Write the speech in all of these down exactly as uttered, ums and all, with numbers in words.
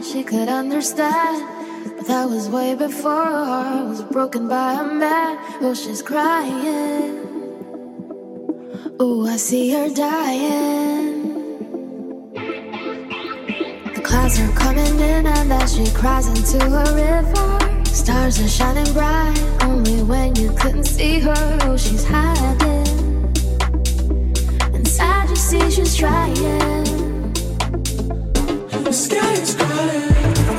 she could understand. But that was way before her heart was broken by a man. Oh, she's crying. Oh, I see her dying. The clouds are coming in and then she cries into a river. Stars are shining bright, only when you couldn't see her. Oh, she's hiding. Inside you see she's trying. The sky is crying.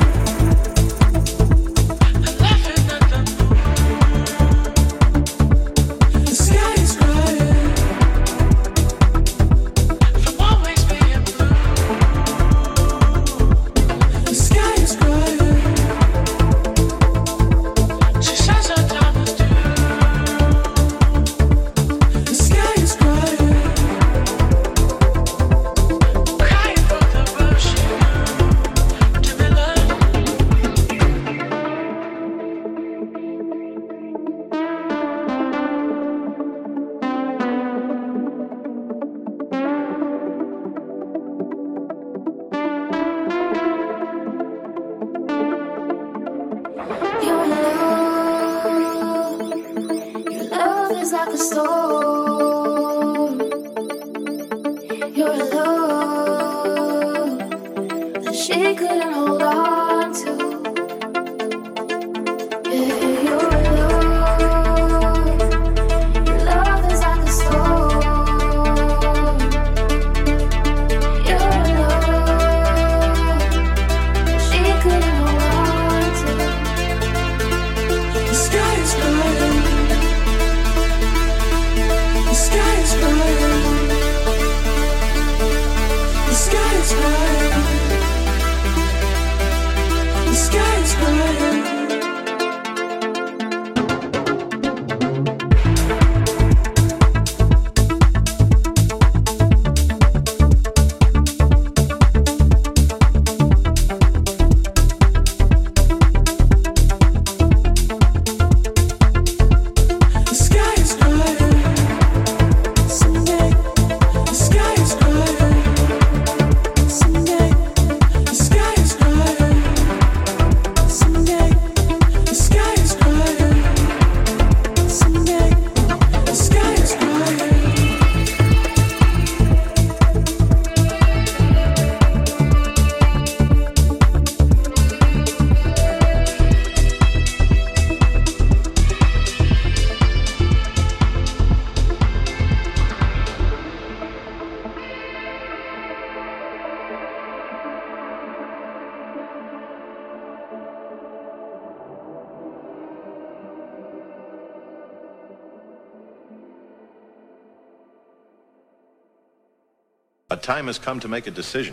A time has come to make a decision.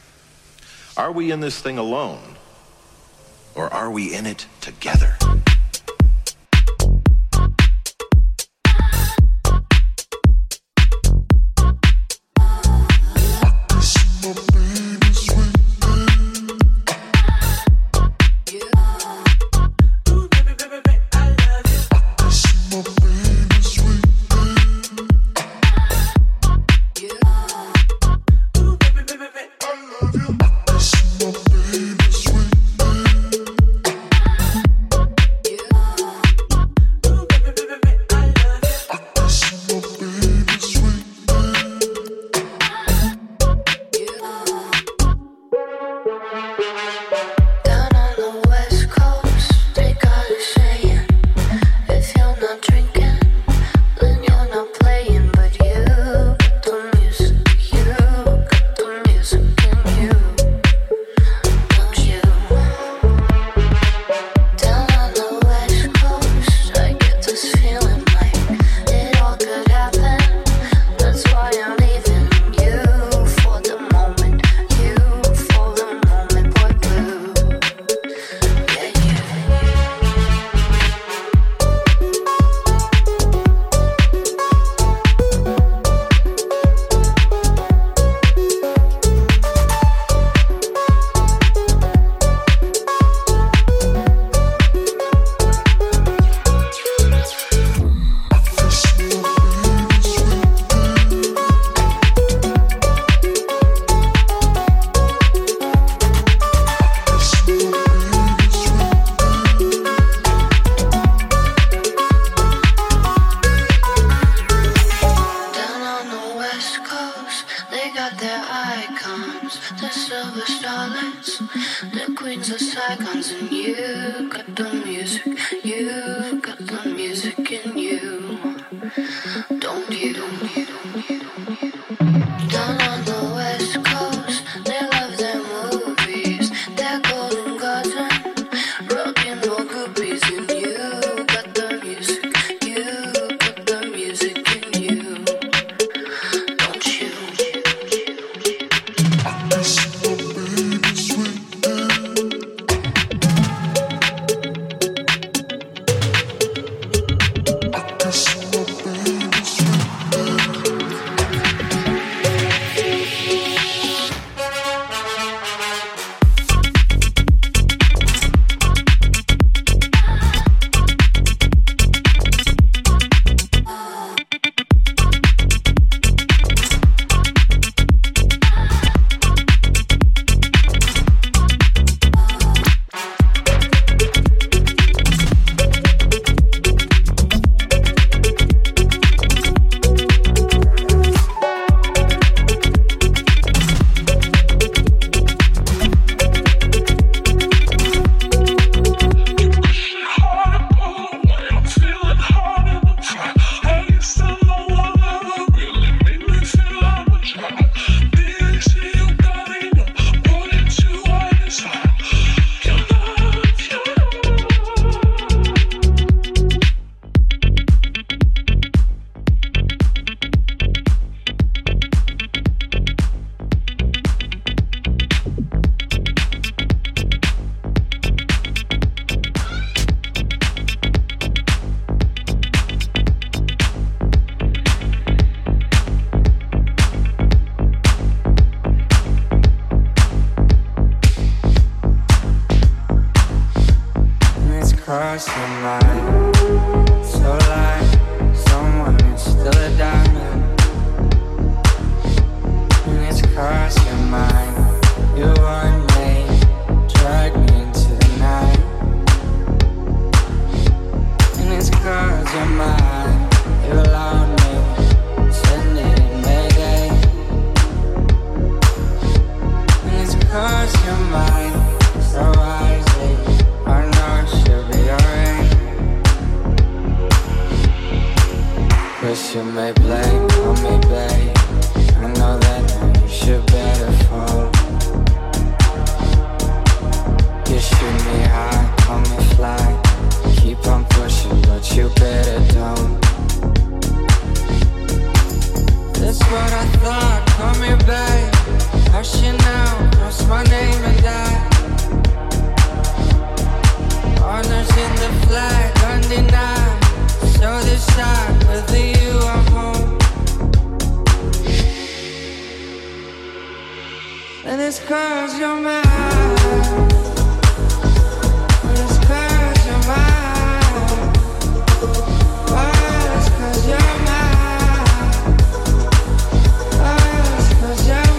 Are we in this thing alone, or are we in it together? coast, they got their icons, the silver starlets, the queens of Saigons, and you got the music, you got the music in you, don't you? Don't you, don't you, don't you. Down on the west coast, they love their movies, their golden garden, rockin' more groupies, and you got the music, you got the music in you, don't you? I miss my baby sweet I miss my baby sweet cross your mind, so like someone is still a diamond. And it's cross your mind, you one day drag me into the night. And it's cross your mind, you allowed me, send it in Mayday. And it's cross your mind, so wisely, I know she'll be alright. Cause you may blame on me, babe. I know that now you should better fall. You shoot me high, call me fly. Keep on pushing, but you better don't. That's what I thought, call me babe. I should now cross my name and die. Honors in the flag, undenied. So decide whether you are home. And it's cause you're mine. And it's cause you're mine. Oh, it's cause you're mine. Oh, it's cause you're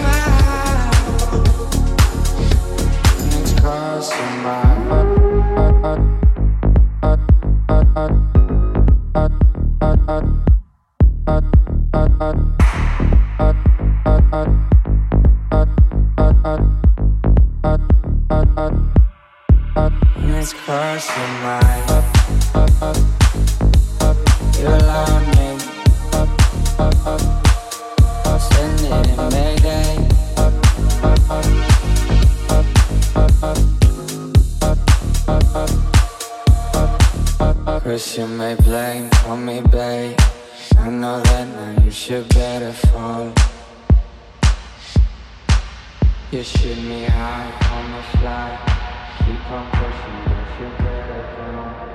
mine. And it's cause you're mine. It's cross your mind. You allowed me, send it in Mayday. Cause you may blame on me, babe. I know that now you should better fall. You shoot me high on the fly. Keep on pushing, but you better don't.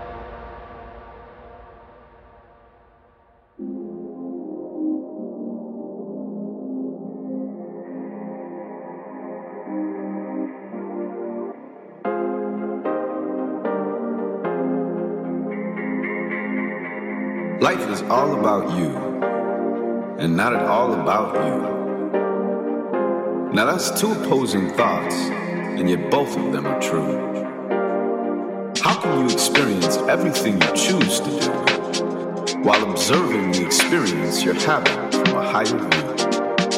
Life is all about you, and not at all about you. Now that's two opposing thoughts, and yet both of them are true. How can you experience everything you choose to do while observing the experience you're having from a higher view?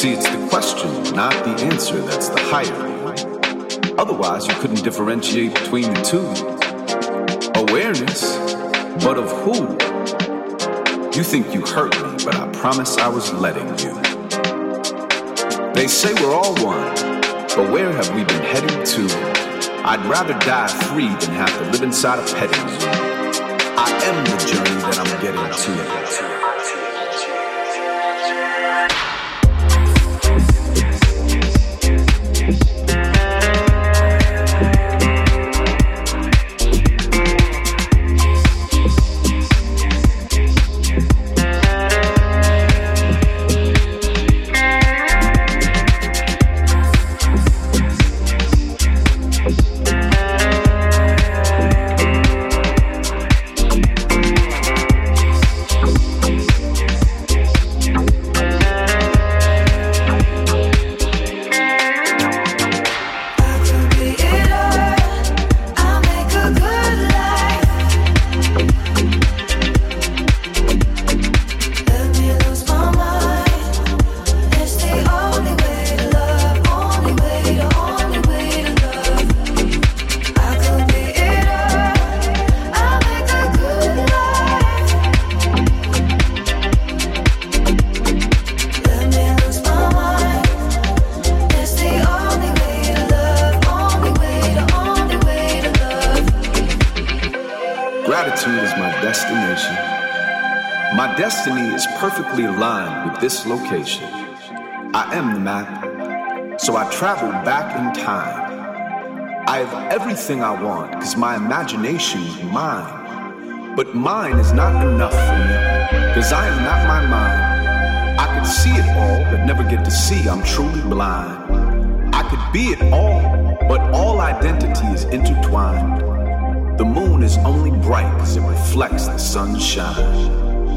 See, it's the question, not the answer, that's the higher. Otherwise, you couldn't differentiate between the two. Awareness, but of who? You think you hurt me, but I promise I was letting you. They say we're all one, but where have we been heading to? I'd rather die free than have to live inside a petting zoo. I am the journey that I'm getting to. Perfectly aligned with this location. I am the map, so I travel back in time. I have everything I want, because my imagination is mine. But mine is not enough for me, because I am not my mind. I could see it all, but never get to see I'm truly blind. I could be it all, but all identity is intertwined. The moon is only bright because it reflects the sunshine.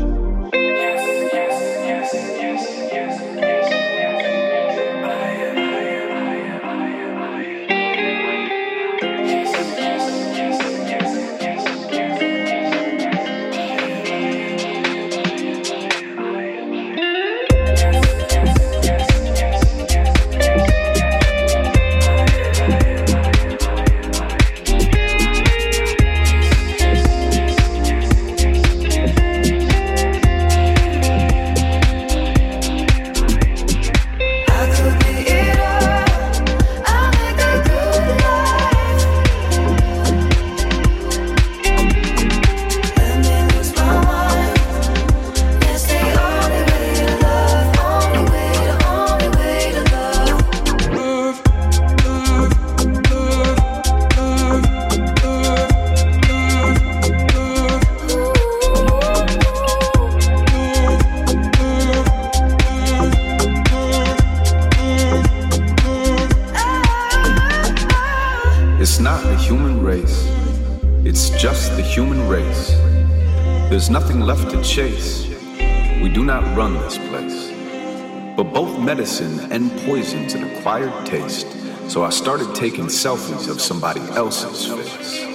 There's nothing left to chase. We do not run this place. But both medicine and poison's an acquired taste. So I started taking selfies of somebody else's face.